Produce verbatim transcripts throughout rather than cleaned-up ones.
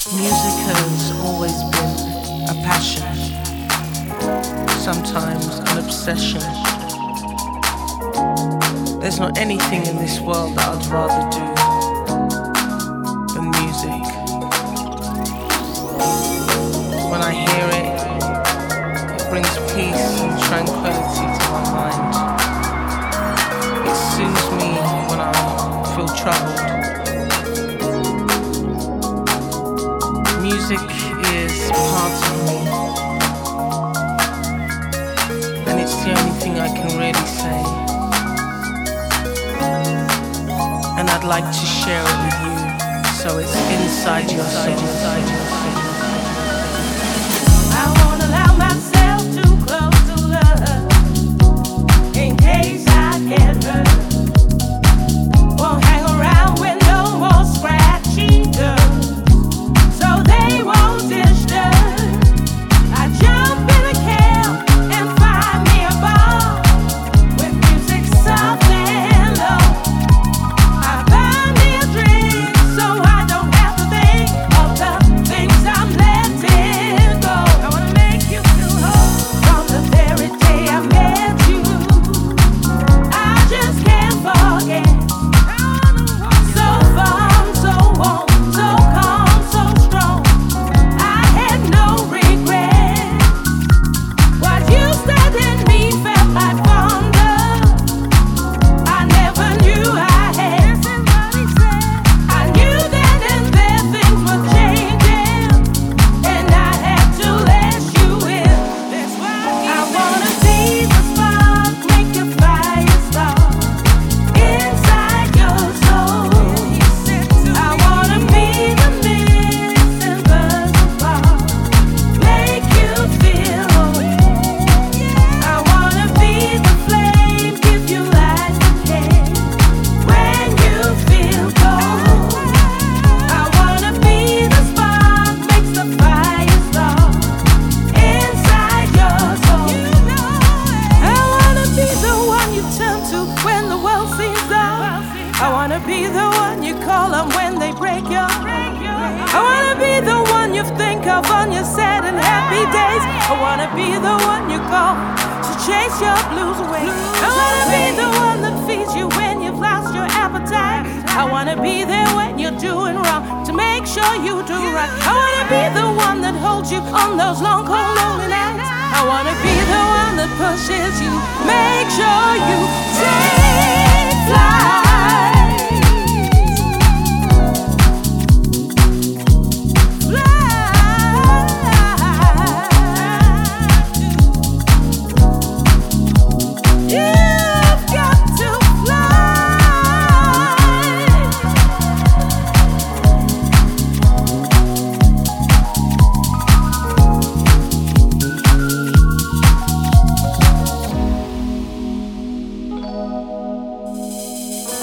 Music has always been a passion, sometimes an obsession. There's not anything in this world that I'd rather do than music. When I hear it, it brings peace and tranquility to my mind. It soothes me when I feel troubled. Music is part of me, and it's the only thing I can really say. And I'd like to share it with you, so it's inside your soul. Inside your soul. I won't allow myself too close to love, in case I get hurt. Won't hang around with no more scratchy girls, so they won't disturb. I jump in a cab and find me a bar with music soft and low. I buy me a drink so I don't have to think of the things I'm letting go. I wanna make you feel whole from the very day I met you. I just can't forget. So fun, so warm, so calm, so strong. I had no regret. What you said in me felt like thunder. I never knew I had. I knew then and there things were changing, and I had to let you in. That's why I wanna be the spark, make your fire start inside your soul. I wanna be the missing buzz apart, make you feel whole. I wanna be the flame, give you light again when you feel cold. I wanna be the spark, makes the fire start inside your soul. I wanna be the one you turn to when the world seems dark. I wanna be the one you call on when they break your heart. I wanna be the one you think of on your sad and happy days. I wanna be the one you call to chase your blues away. I wanna be the one that feeds you when you've lost your appetite. I wanna be there when you're doing wrong to make sure you do right. I wanna be the one that holds you on those long, cold, lonely nights. I wanna be the one that pushes you, make sure you take flight. You've got to fly.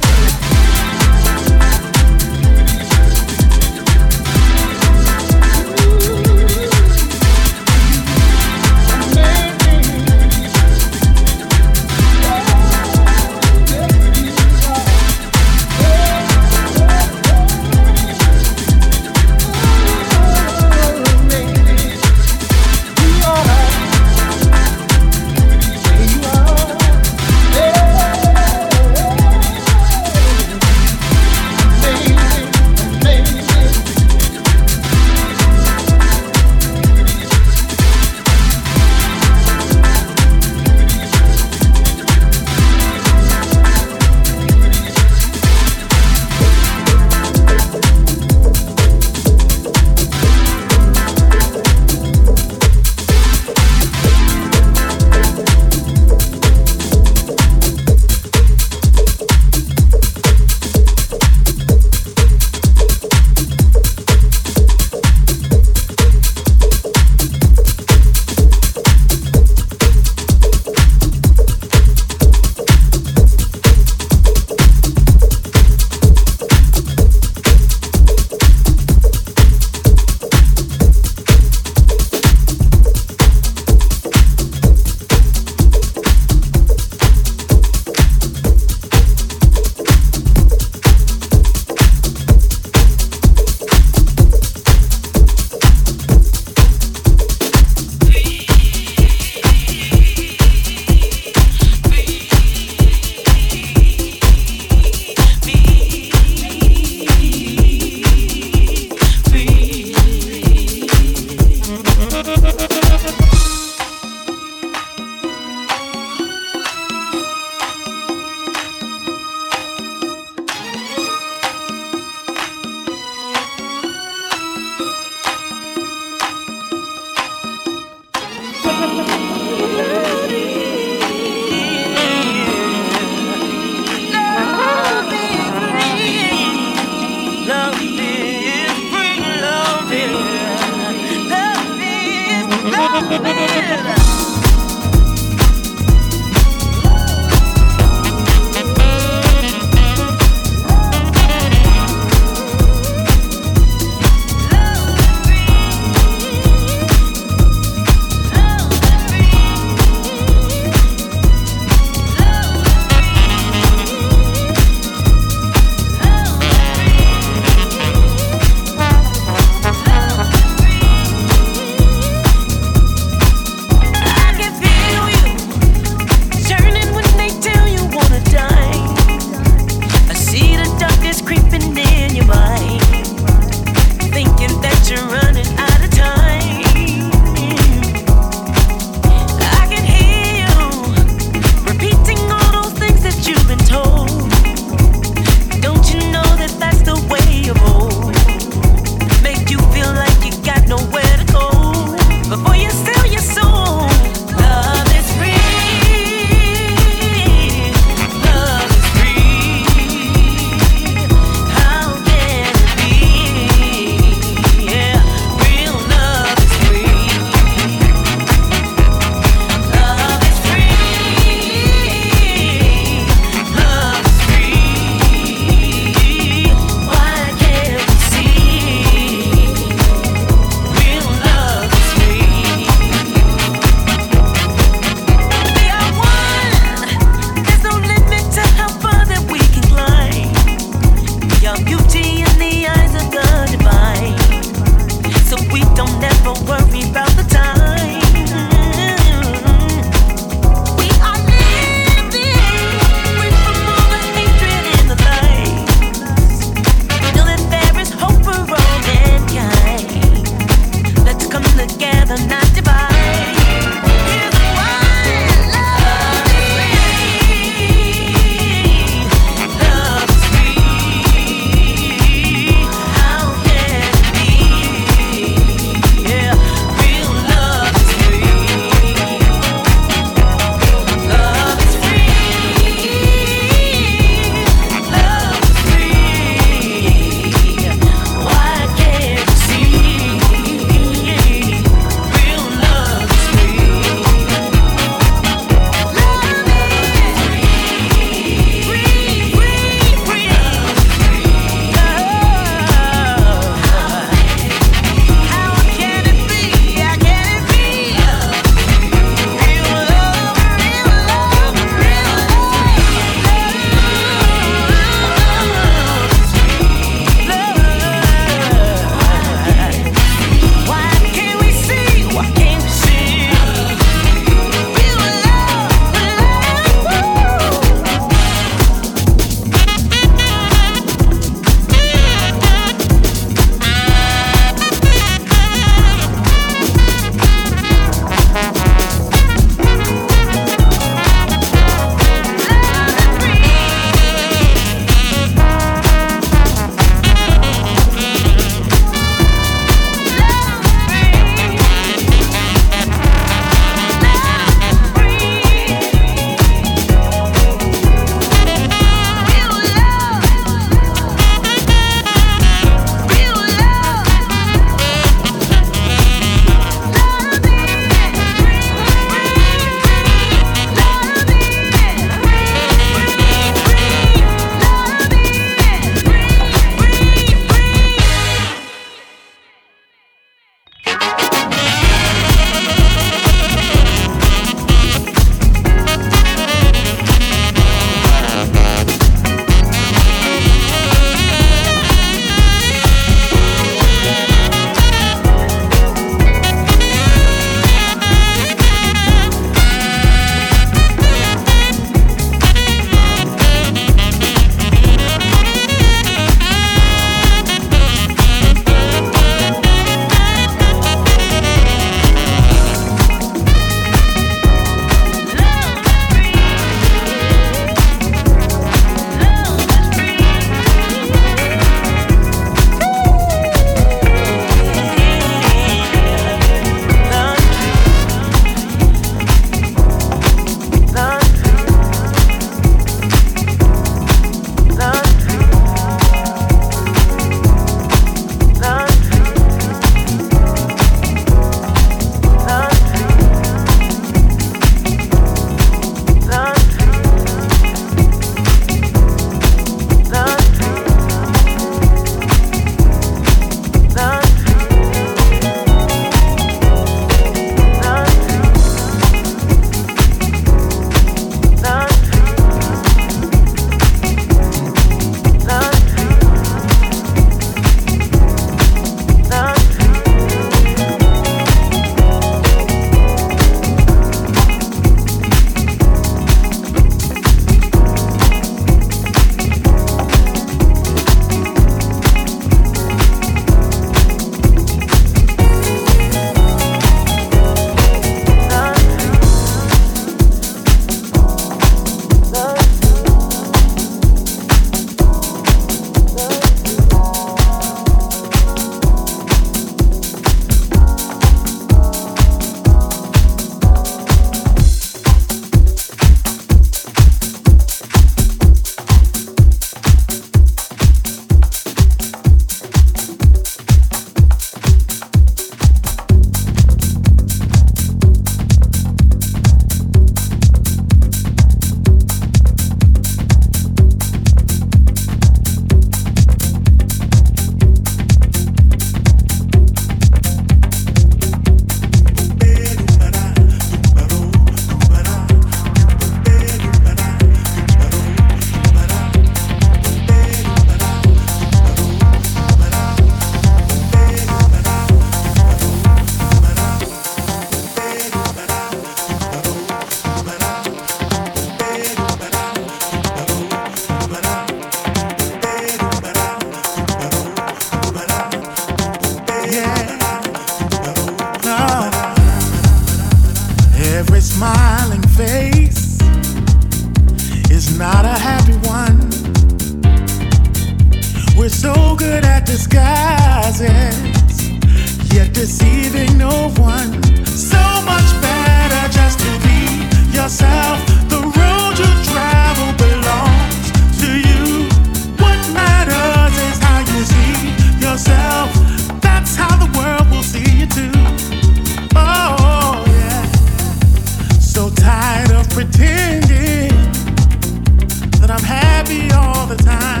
disguises, yet deceiving no one. So much better just to be yourself. The road you travel belongs to you. What matters is how you see yourself. That's how the world will see you too. Oh yeah. So tired of pretending that I'm happy all the time.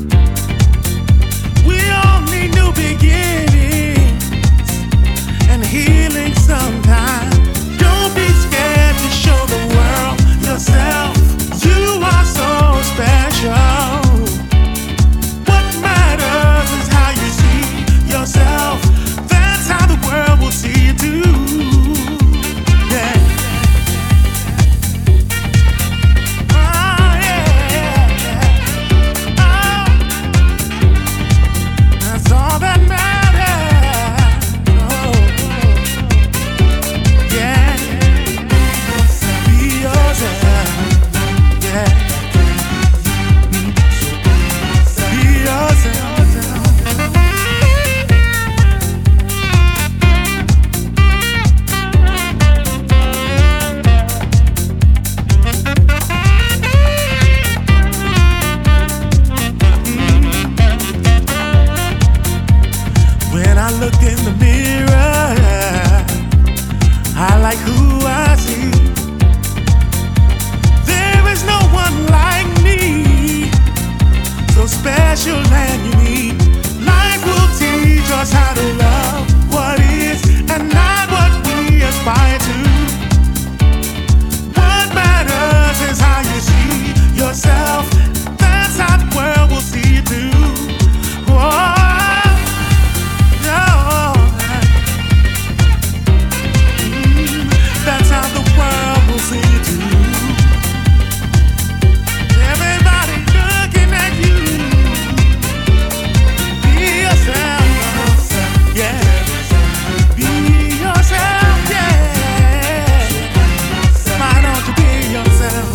We all need new beginnings and healing sometimes. Don't be scared to show the world yourself. You are so special. What matters is how you see yourself. That's how the world will see you too. Yeah. Oh, yeah, yeah. Oh, that's all that matters. Oh, yeah. Be yourself. Yeah. Be yourself. When I look in the mirror, I like who I see. There is no one like me, so special and unique. Life will teach us how to love what is and not what we aspire to. What matters is how you see yourself. That's how the world will see you too. Whoa. That's how the world will see you too. Everybody looking at you. Be yourself, yeah. Be yourself, yeah. Why don't you be yourself?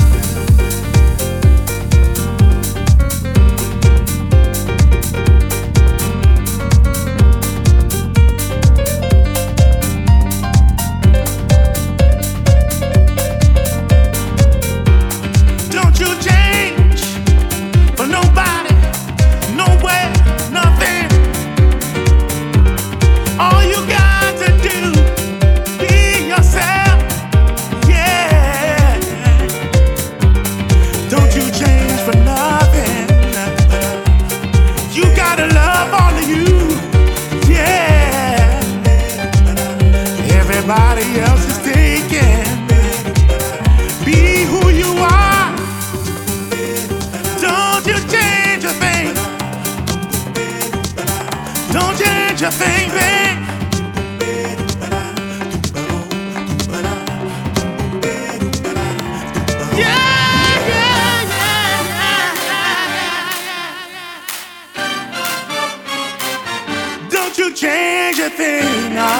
Don't you change for nobody, nowhere, nothing. All you got to do, be yourself, yeah. Don't you change for nothing. You gotta love all of you, yeah. Everybody else is taken. Be who you are. Don't you change a thing. Don't change a thing, babe. Yeah, yeah, yeah, yeah. Don't you change a thing, no.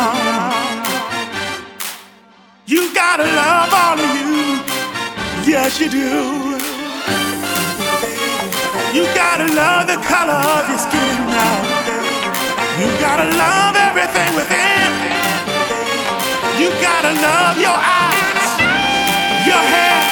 You gotta love all of you. Yes, you do. You gotta love the color of your skin now. You gotta love everything within. You gotta love your eyes, your hair.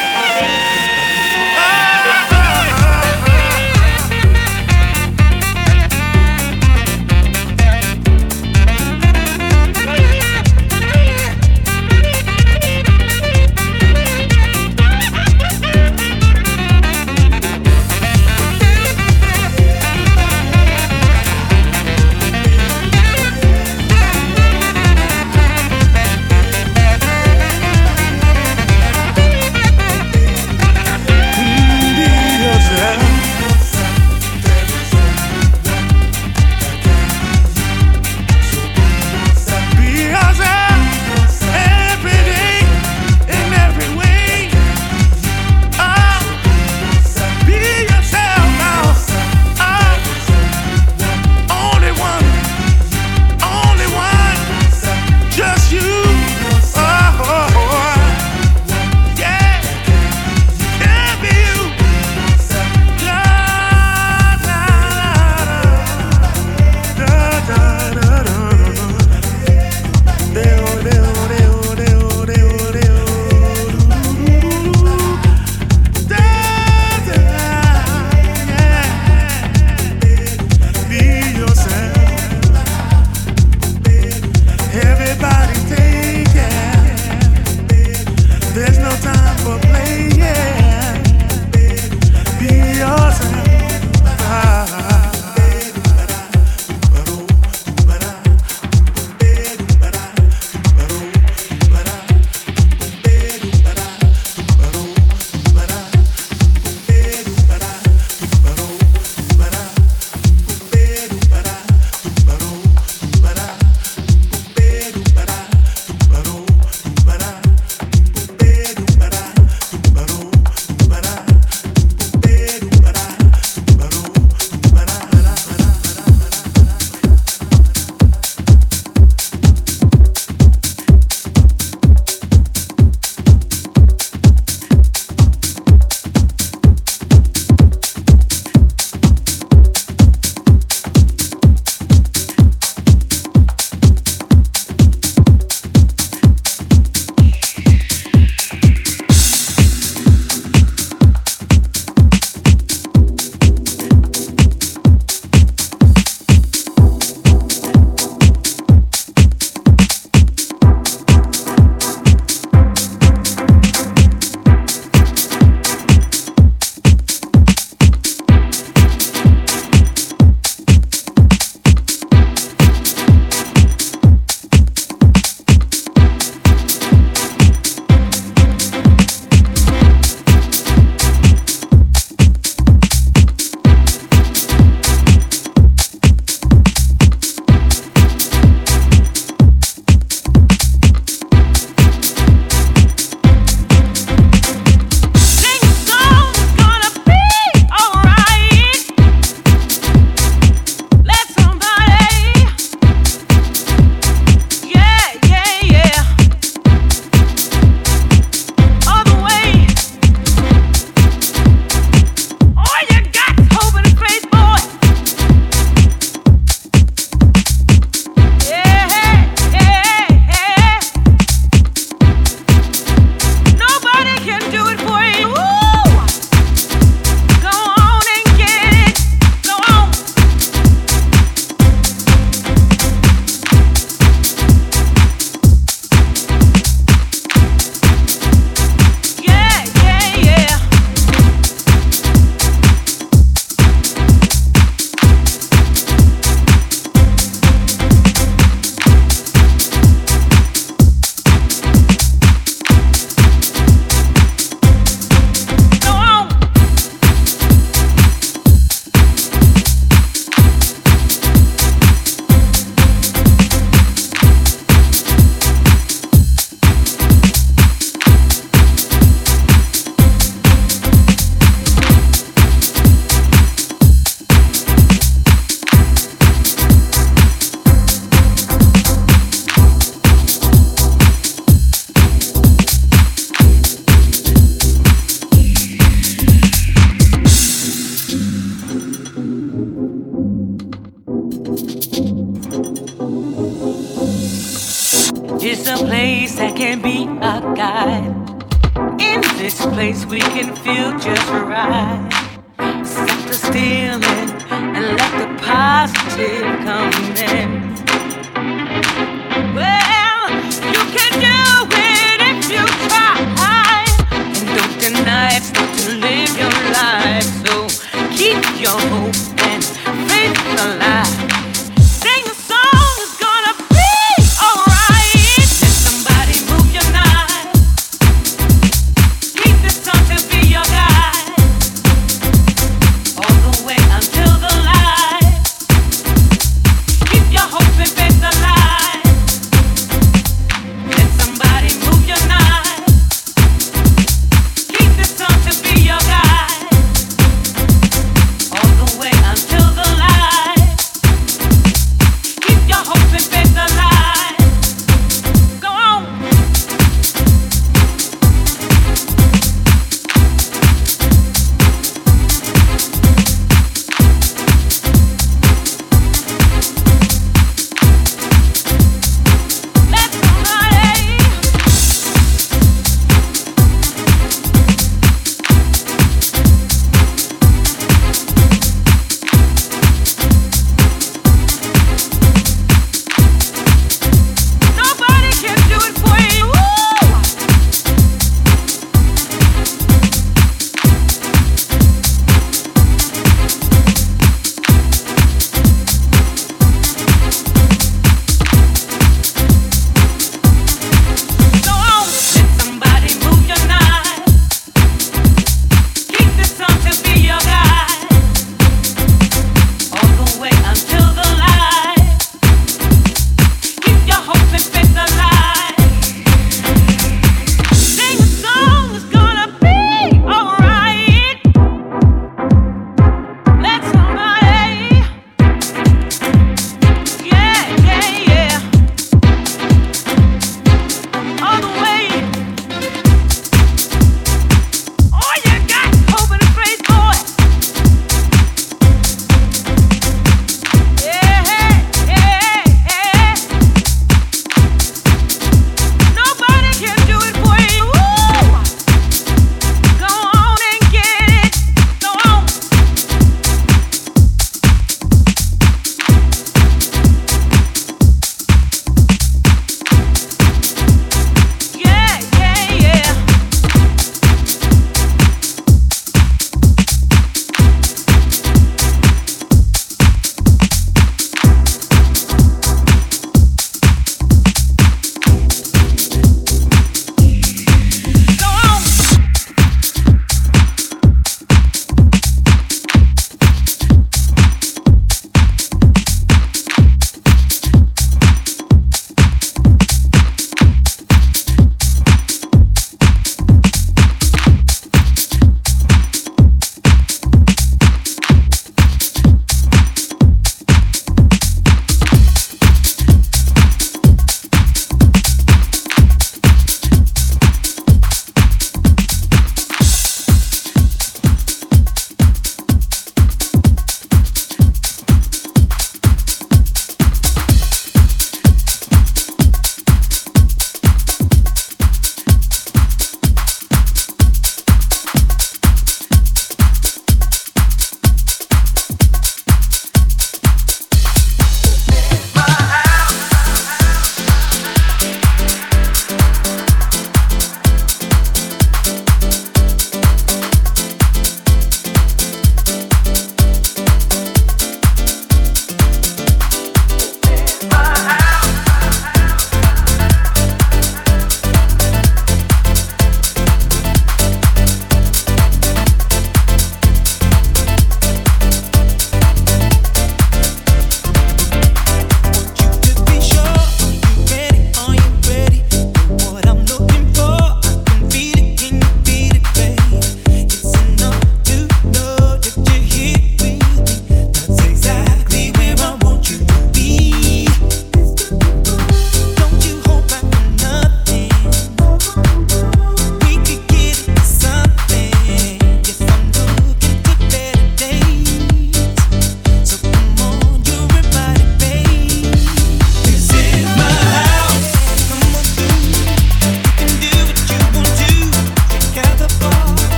It's a place that can be a guide. In this place we can feel just right. Stop the stealing and let the positive come in. Well, you can do it if you try. And don't deny it, start to live your life. So keep your hope and faith alive. Sing a song, it's gonna be alright. Let somebody move your knife. Keep this song to be your guide. All the way until the light.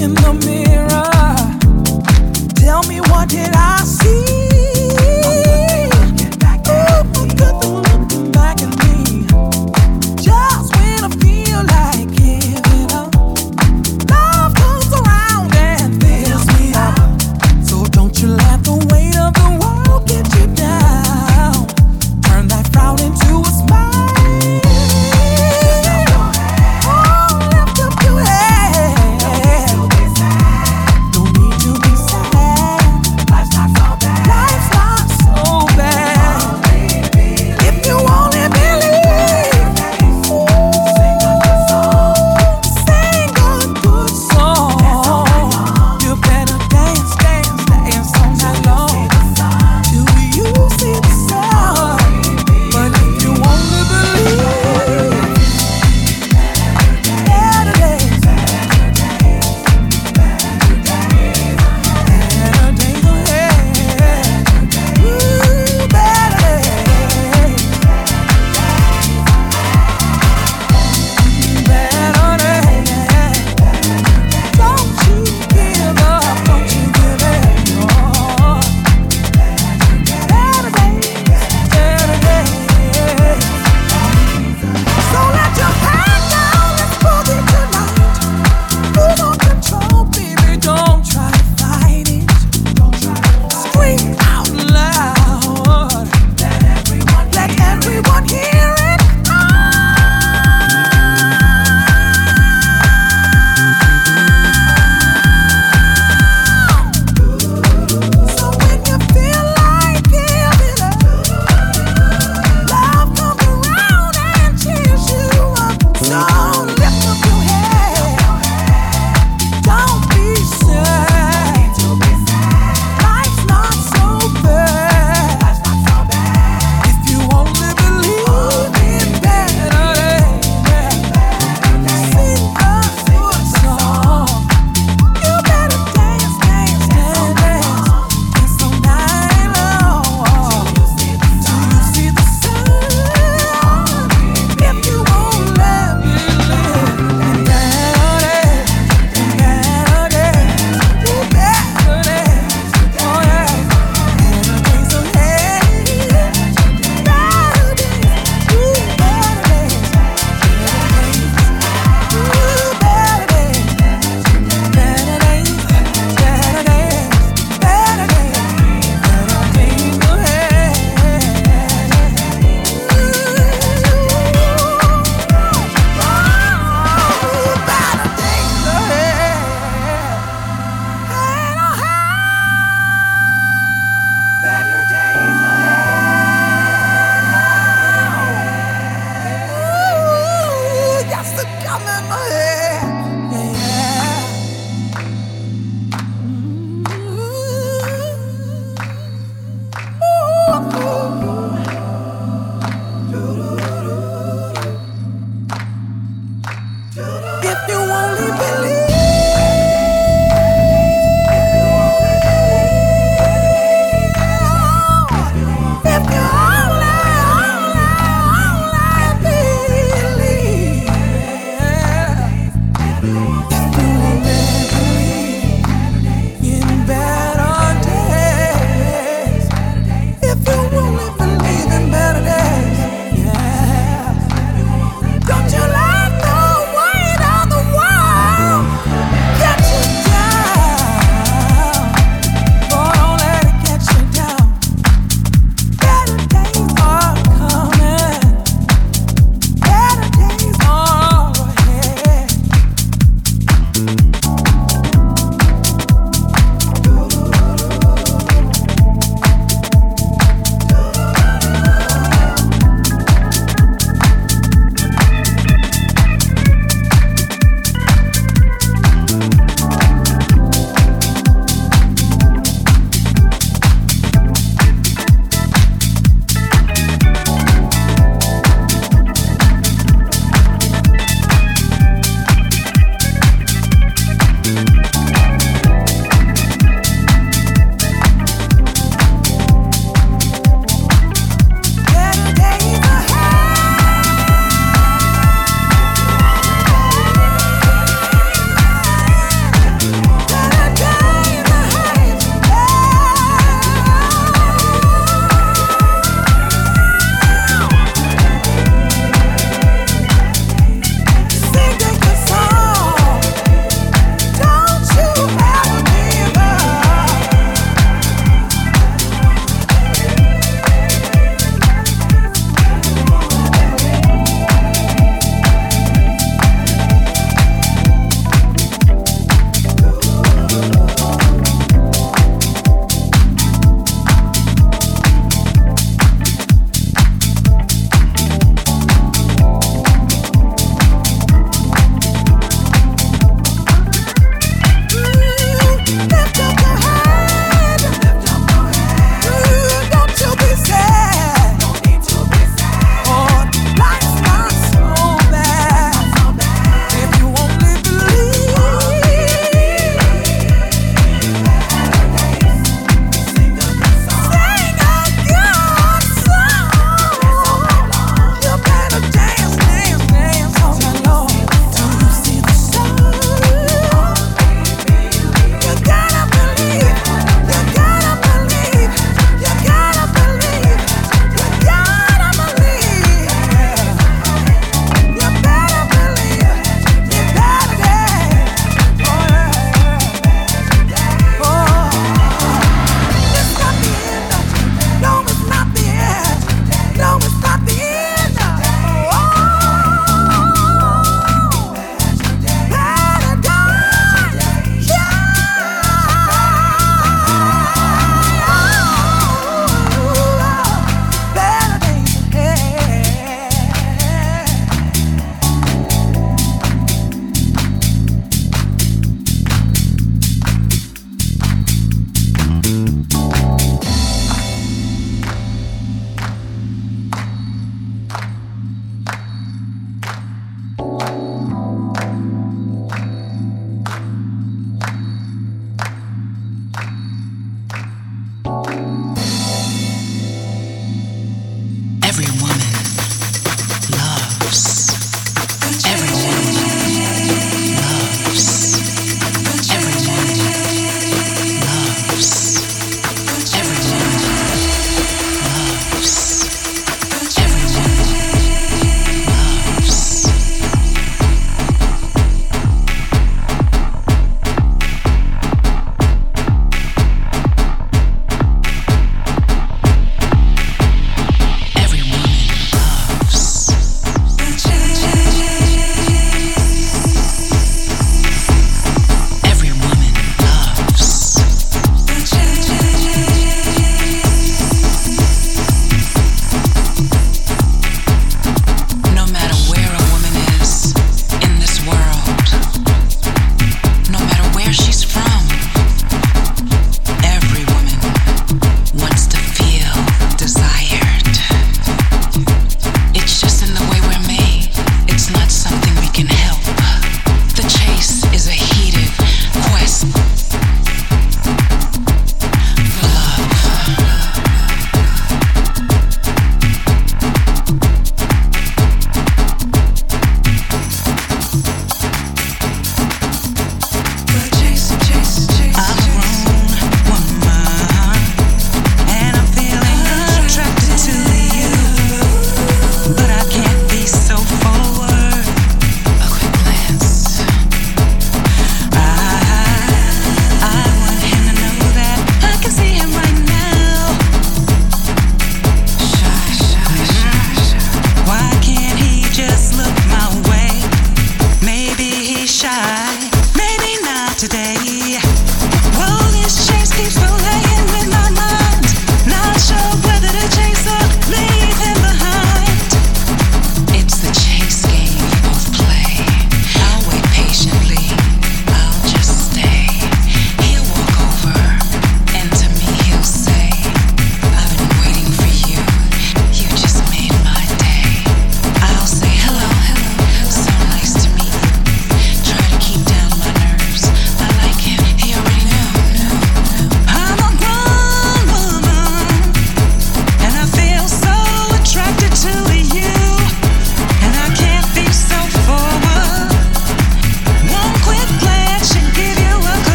in the mirror. Tell me, what did I see? This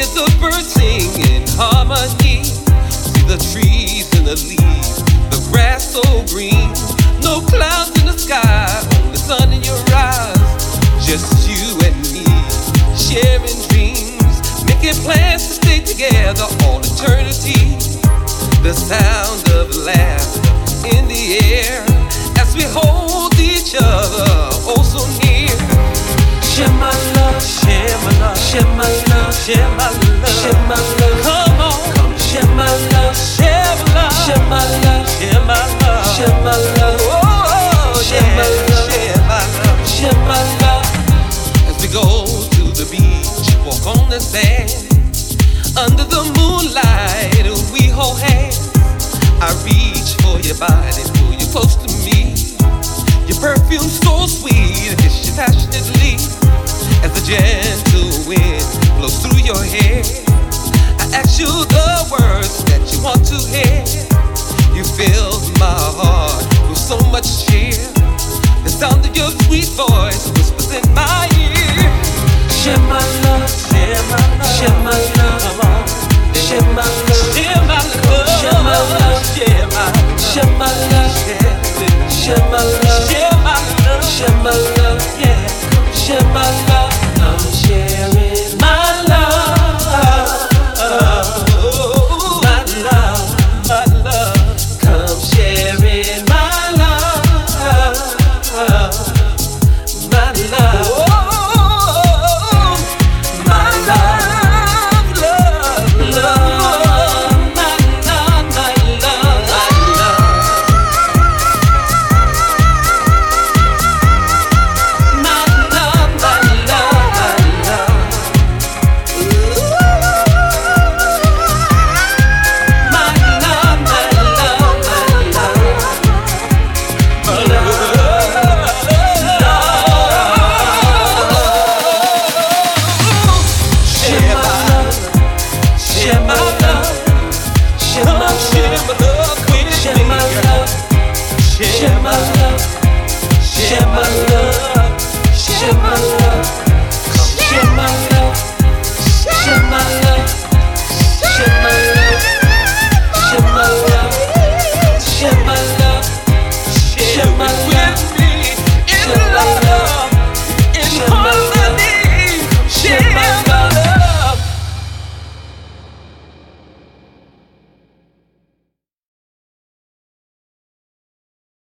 hear the birds sing in harmony. See the trees and the leaves, the grass so green. No clouds in the sky, only sun in your eyes. Just you and me, sharing dreams, making plans to stay together all eternity. The sound of laughter in the air as we hold each other oh so near. Share my love, share my love, share my love, share my love, share my love. Come on, come share my love, share my love, share my love, share my love, share my love. Oh, share my love, share my love, share my love. As we go to the beach, walk on the sand, under the moonlight, we hold hands. I reach for your body, pull you close to me. Your perfume so sweet, I kiss you passionately. As the gentle wind blows through your hair, I ask you the words that you want to hear.